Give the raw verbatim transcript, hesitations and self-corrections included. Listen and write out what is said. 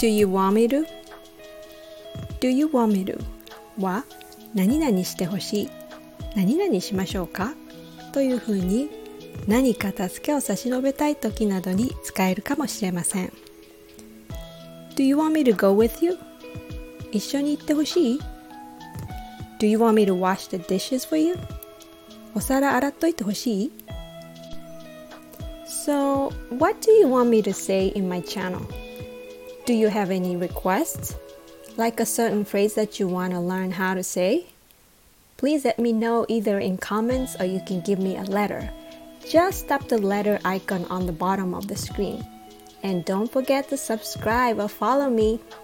Do you want me to? Do you want me to? は何々してほしい、何々しましょうかというふうに何か助けを差し伸べたい時などに使えるかもしれません。Do you want me to go with you? 一緒に行ってほしい？ Do you want me to wash the dishes for you? お皿洗っといてほしい？ So, what do you want me to say in my channel? Do you have any requests? Like a certain phrase that you want to learn how to say? Please let me know either in comments or you can give me a letter. Just tap the letter icon on the bottom of the screen. And don't forget to subscribe or follow me.